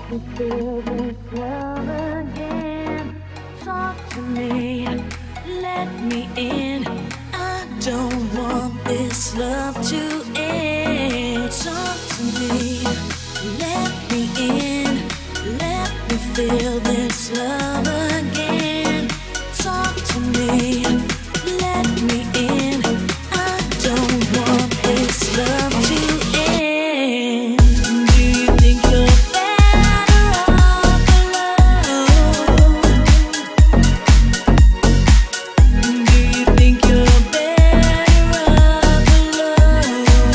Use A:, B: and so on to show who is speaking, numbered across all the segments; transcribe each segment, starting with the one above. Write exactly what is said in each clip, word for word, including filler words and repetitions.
A: me feel this love again. Talk to me, let me in. I don't want this love to end. Talk to me, let me in. Let me feel this love again. Talk to me, let me in. I don't want this love to end. Do you think you're better off alone? Do you think you're better off alone?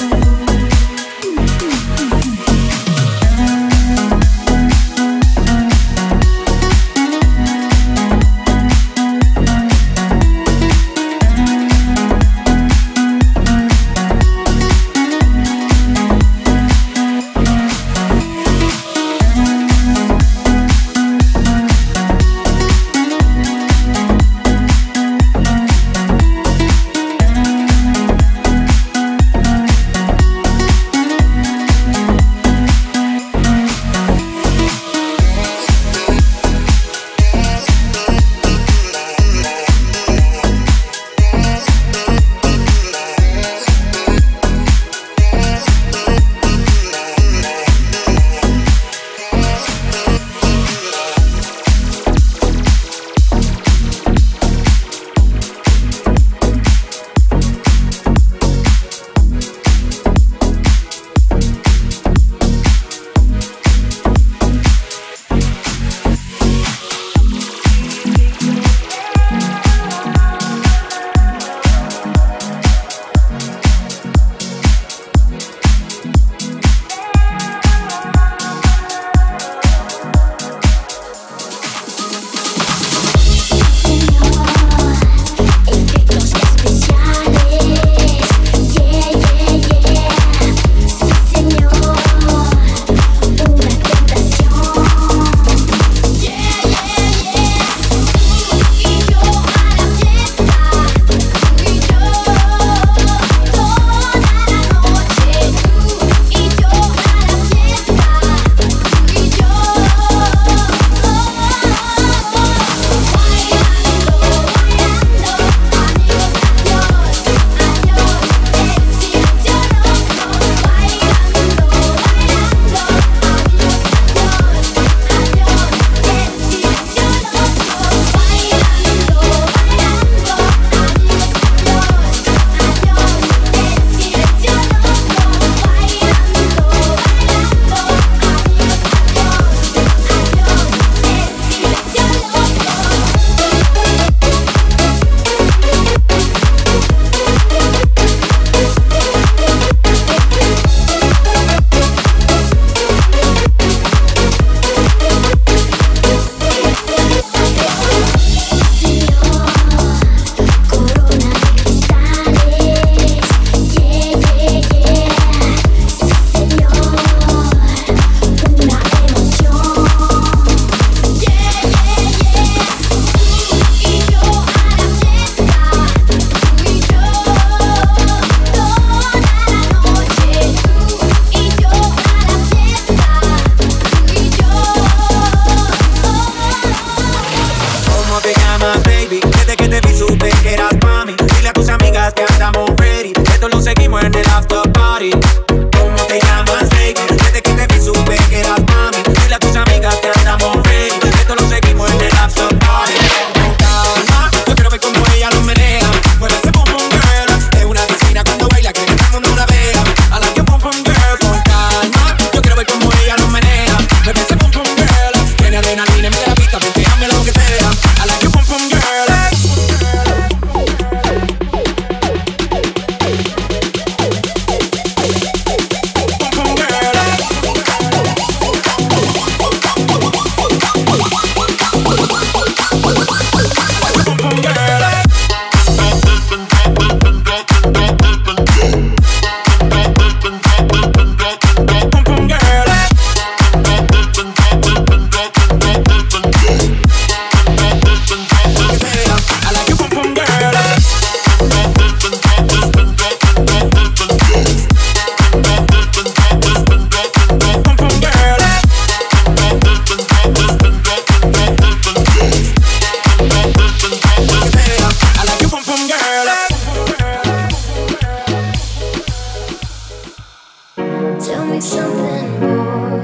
A: something, boy.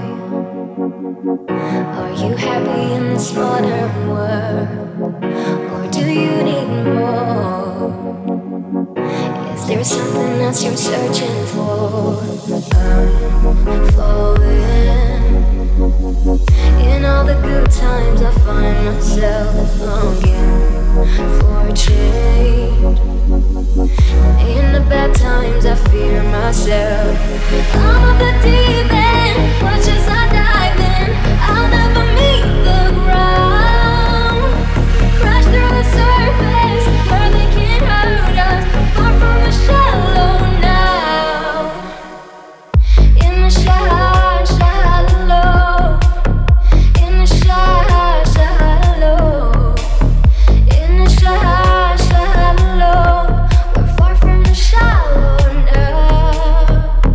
A: Are you happy in this modern world? Or do you need more? Is there something else you're searching for? I'm falling. In all the good times I find myself longing for change. In the bad times I fear myself. I'm up the deep end, watch as I dive in. I'll never meet the ground. Crash through the surface where they can't hurt us. Far from the shallow now. In the shallow, shallow. In the shallow, shallow. In the shallow, shallow. We're far from the shallow now.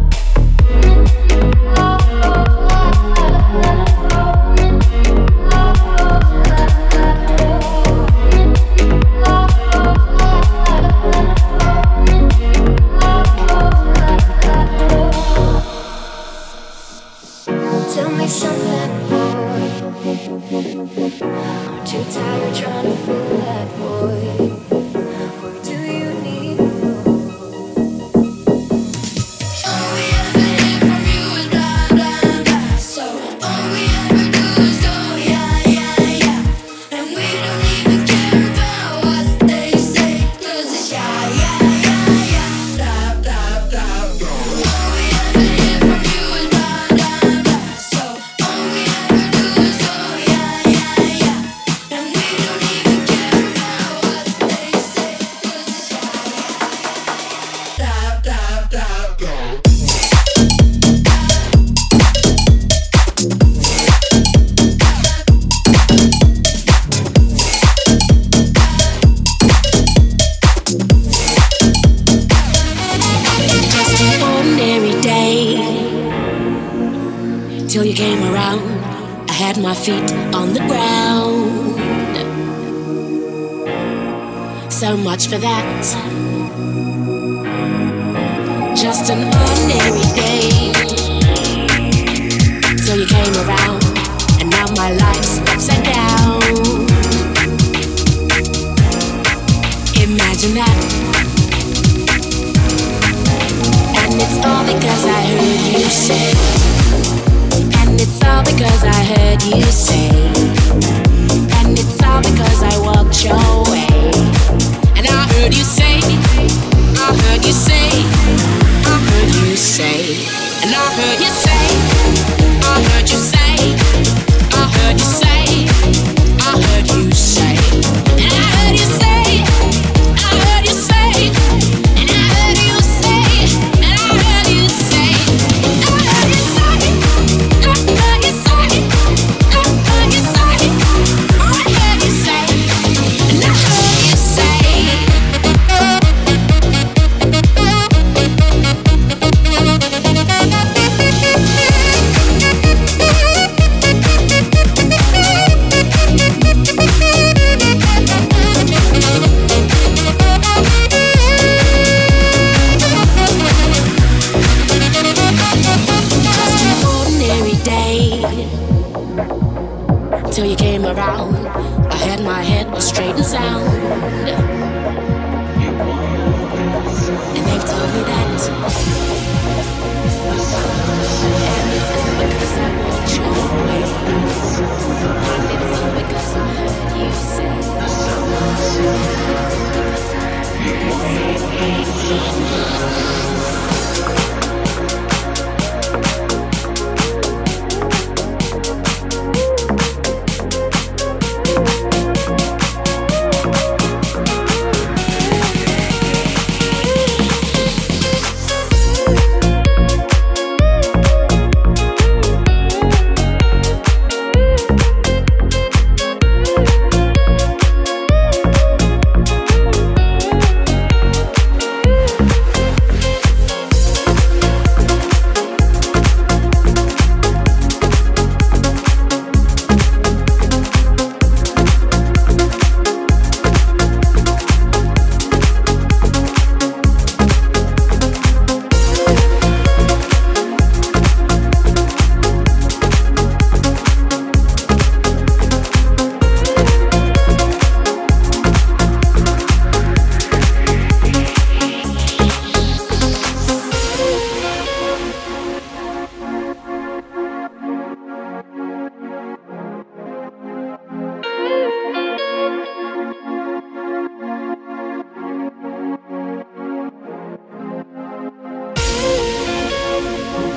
A: Tell me something, boy. Aren't you tired trying to fill that void? Or do you need more? All we ever hear from you is blah, blah, blah. So all we ever do is go, yeah, yeah, yeah. And we don't even care about what they say. 'Cause it's yeah, yeah, yeah, yeah. Blah, blah, blah, blah. All we ever hear from you is blah, blah, blah. So all we ever do is go, yeah, yeah, yeah. And we don't even care about what they say. 'Cause it's yeah, yeah, yeah, yeah. Blah, blah, blah, blah. Just an ordinary day till you came around. I had my feet on the ground. So much for that. Just an ordinary day till you came around, and now my life's upside down. Imagine that. And it's all because I heard you say. And it's all because I heard you say. And it's all because I walked your way. And I heard you say, I heard you say, I heard you say. And I heard you say, I heard you say, I heard you say, I heard you say. And I heard you say, I heard you say, and I heard you say, and I heard you say, I heard you say, I heard you say, I heard you say, I heard you say, and I heard you say. Just an ordinary day till you came around. I had my head straight and sound, and they've told me that. And it's all because I walked your way. And it's all because I heard you say.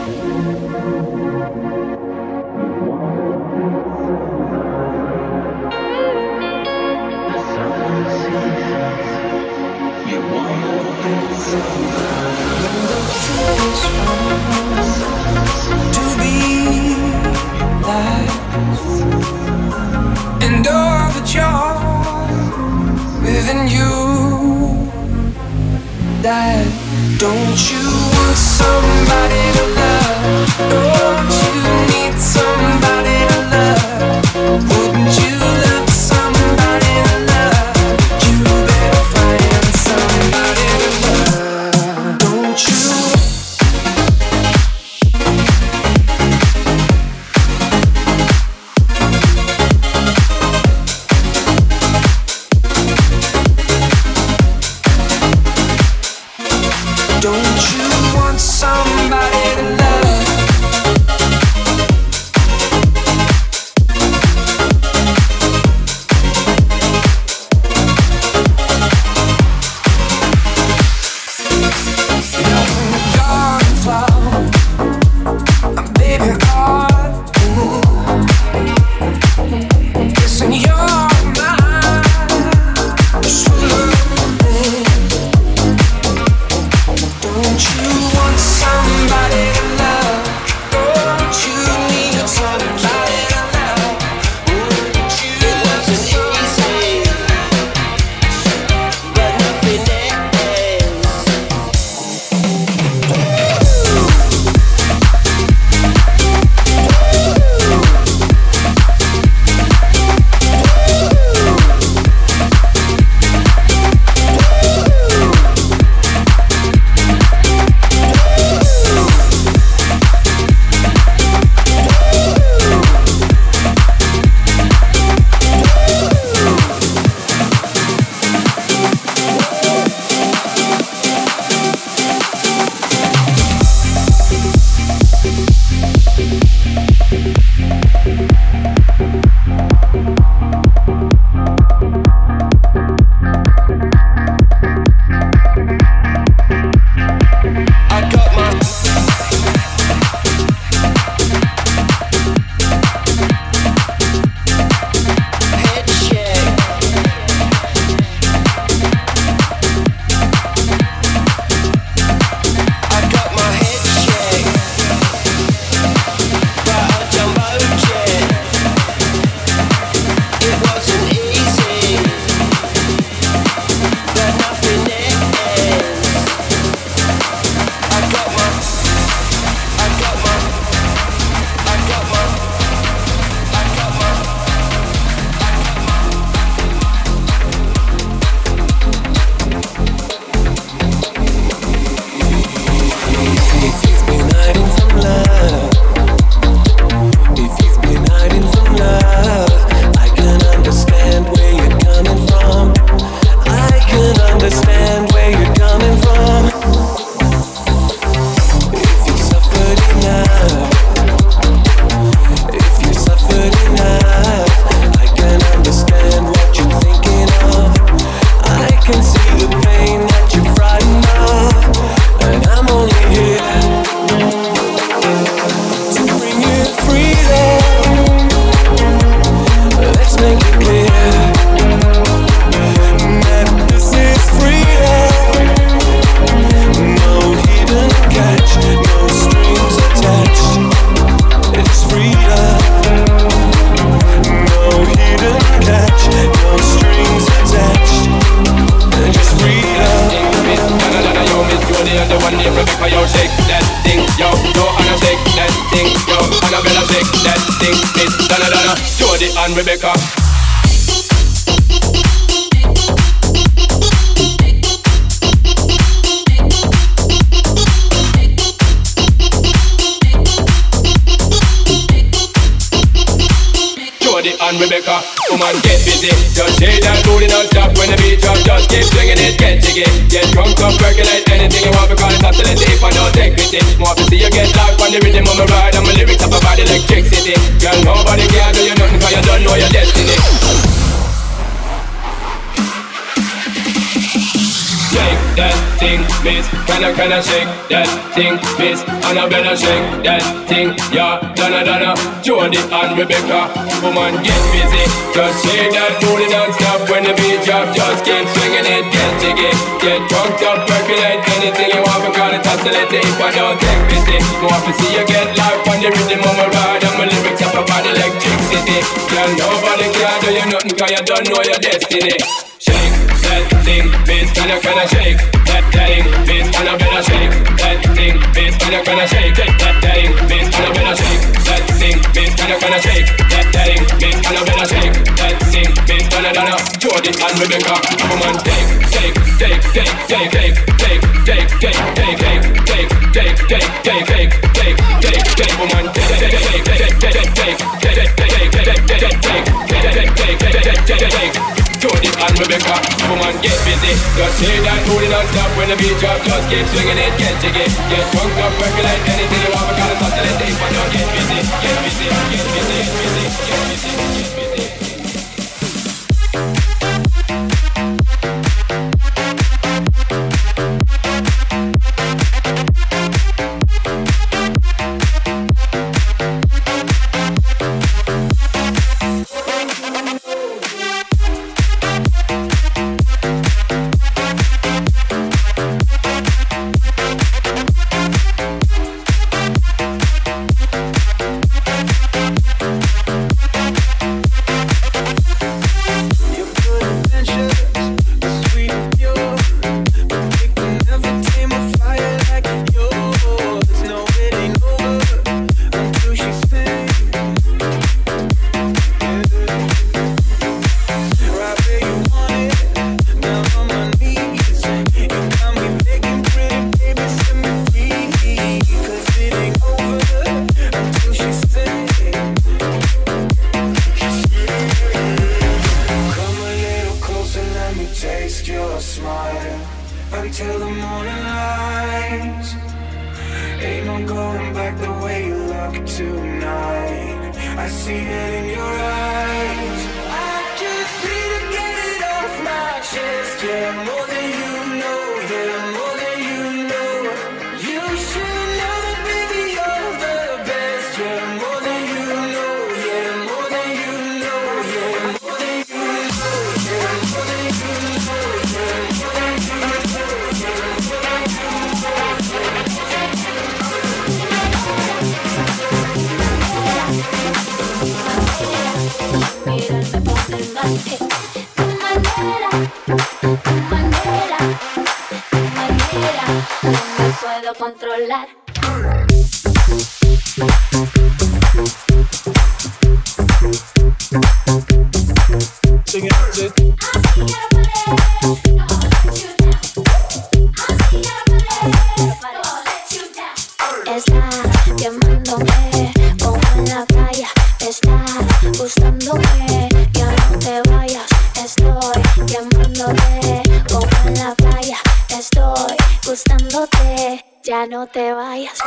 B: and Rebecca. And Rebecca, come on, get busy. Just shake that booty non-stop when the beat drop. Just keep swinging it, get jiggy. Get drunk up, percolate anything you want because it's hostility if I don't take pity. More to see you get locked on the rhythm of my ride and my lyrics up about electricity. Girl, nobody can do you nothing because you don't know your destiny. Shake that thing, miss. Can I, can I shake that thing, miss? And I better shake that thing, yeah. Donna, Donna, Jody and Rebecca. Woman, get busy. Just shake that booty non-stop when the beat drop. Just keep swinging it, get jiggy. Get drunk up, percolate anything you want. Because it's oscillating if I don't take pity. More to see you get life on the rhythm of my ride. And my lyrics up about electricity. Girl, nobody can do you nothing cause you don't know your destiny. Shake that thing, miss, can I, can I shake that thing, miss, and I better shake that thing, miss, can I, can I shake that thing, miss, and I better shake that thing, miss, can I, can I shake that thing, miss, and I better shake that thing, miss, Donna, Donna, Jody and Rebecca. Come on, take, take, take, take, take, take, take, take, take, take, take, take, take, take, take, take, take, take, take, woman, take, take, take, take, take, take, take, take, take, take, take, take, take, take, take, take. Jody and Rebecca, woman, get busy. Just say that booty non-stop when the beat drop. Just keep swinging it, get jiggy. Get drunk up, percolate anything you want. Because it's oscillating, but don't get busy. Get busy, get busy, get busy, get busy, get busy.
A: Controlar. Está quemándome como en la playa. Está gustándome, ya no te vayas. Estoy quemándote como en la playa. Estoy gustándote, ya no te vayas.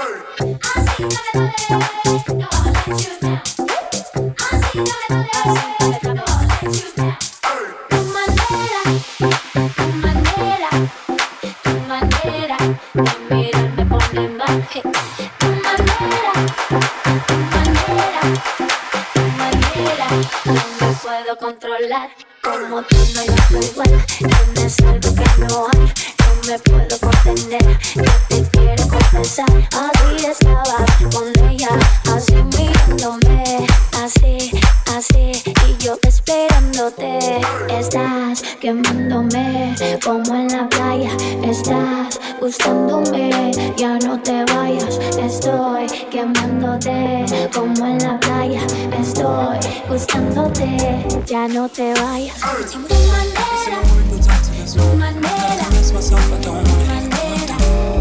A: Tu manera, tu manera, tu manera de mirar me pone mal. Tu manera, tu manera, tu manera, no me puedo controlar. Como tú no hay otro igual, tienes algo que no hay. No me puedo contener, yo te quiero confesar. Así estaba con ella, así mirándome, así, así, y yo esperándote. Estás quemándome como en la playa. Estás gustándome, ya no te vayas. Estoy quemándote como en la playa. Estoy gustándote, ya no te vayas. Tu manera, tu manera.
C: Myself, I don't want it.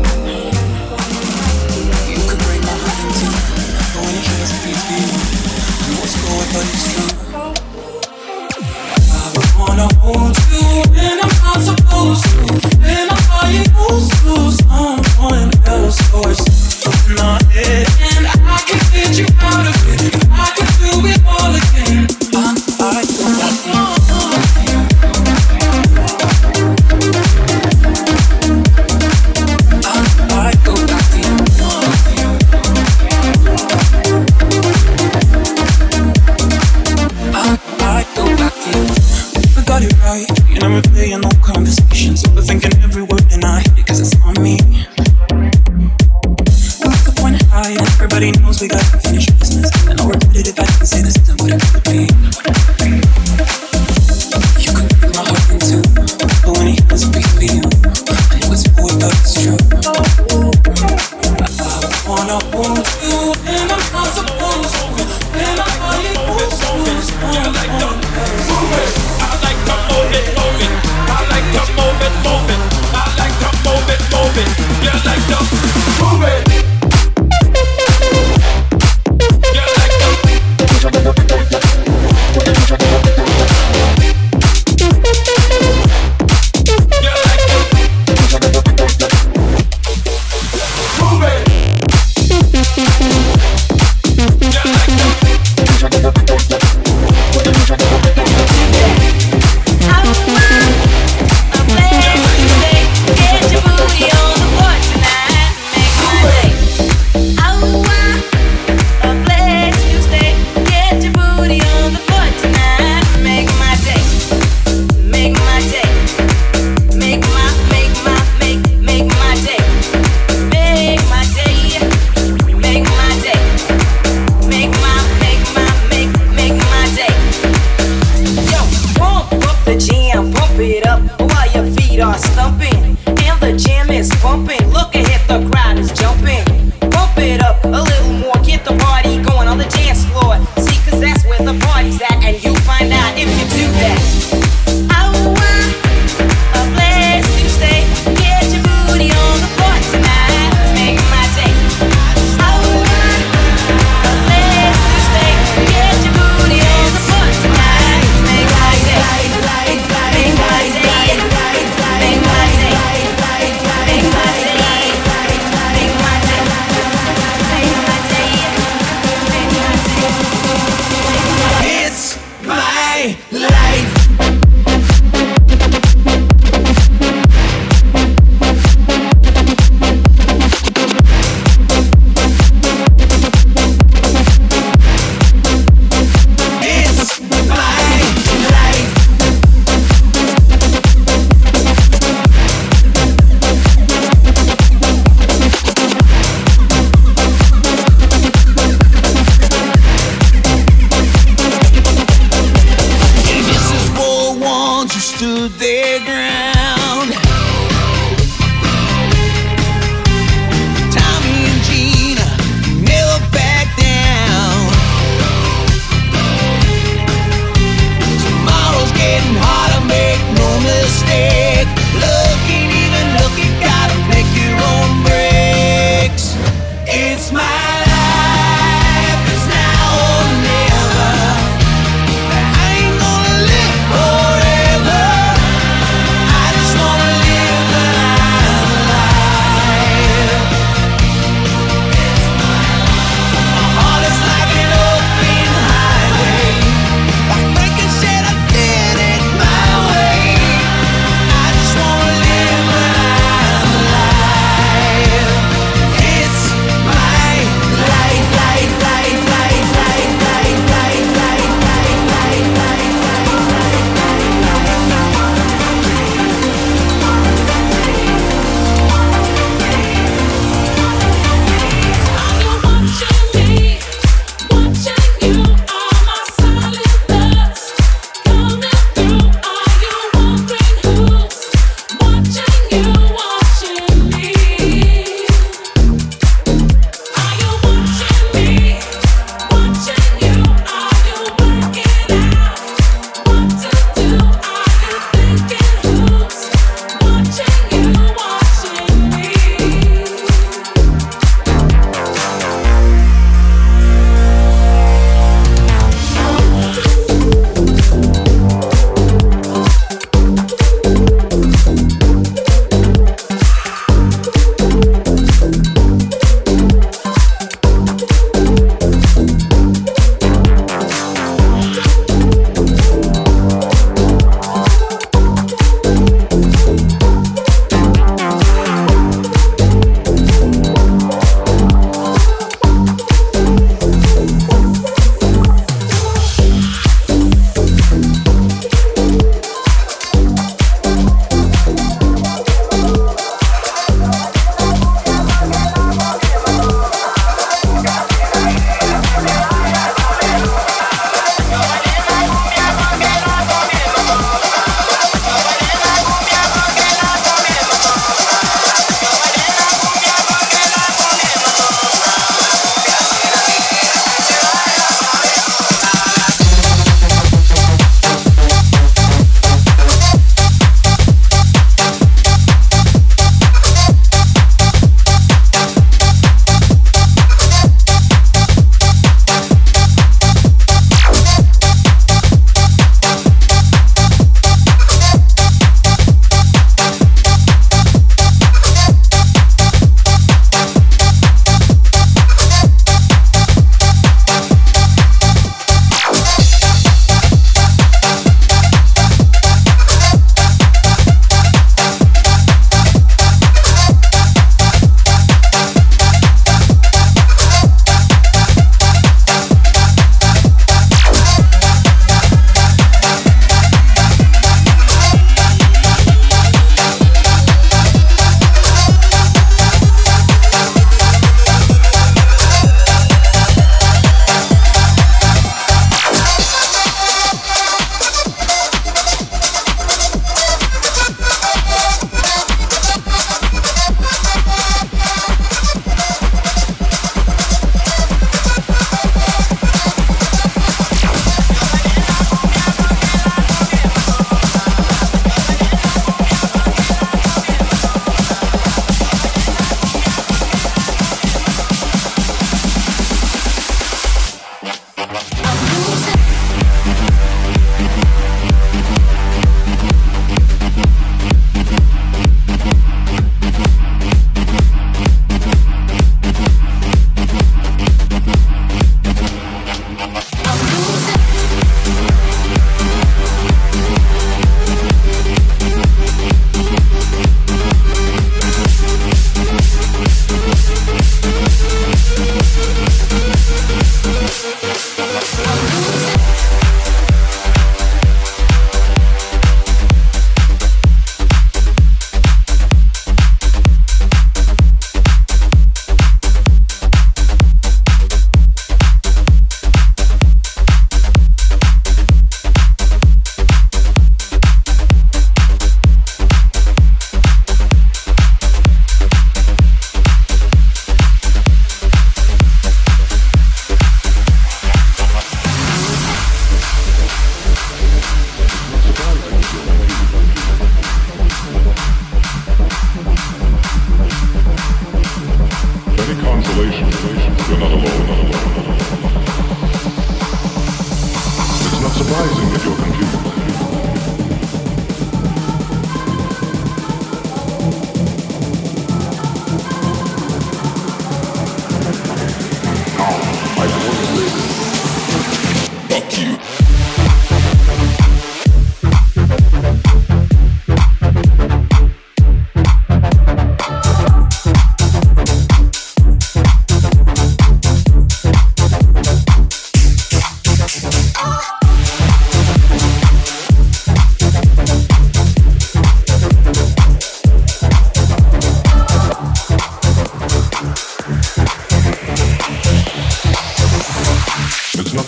C: You could break my heart in two, but when it hurts, please be I know it's cold, but it's true. I wanna hold you when I'm not supposed to. When I call you close to someone else, or it's in my head, and I can get you out of it. If I could do it all again, I, I don't want you. right, everybody knows we got unfinished business. And I'll repeat it if I didn't say this, then what it would be. You could break my heart in two, but when it doesn't beat for you, I know it's more about it's true. I wanna hold you and I'm not supposed to. When I'm not supposed to.
B: You like to move it. I like to move it, move it. I like to move it, move it. I like to move it, move it. You like to move it. You like to move it.
A: Make my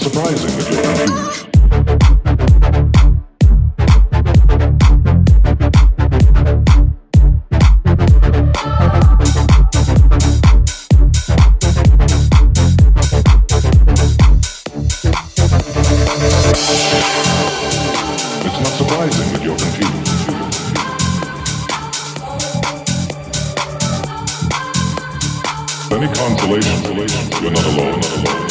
D: surprising that you're confused. It's not surprising that you're confused. Any consolation, you're not alone, not alone.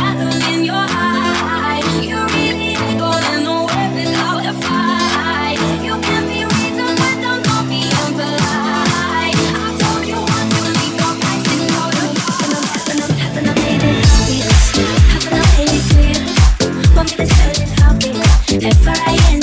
A: In your eyes, you really ain't gonna know where without a fight. If I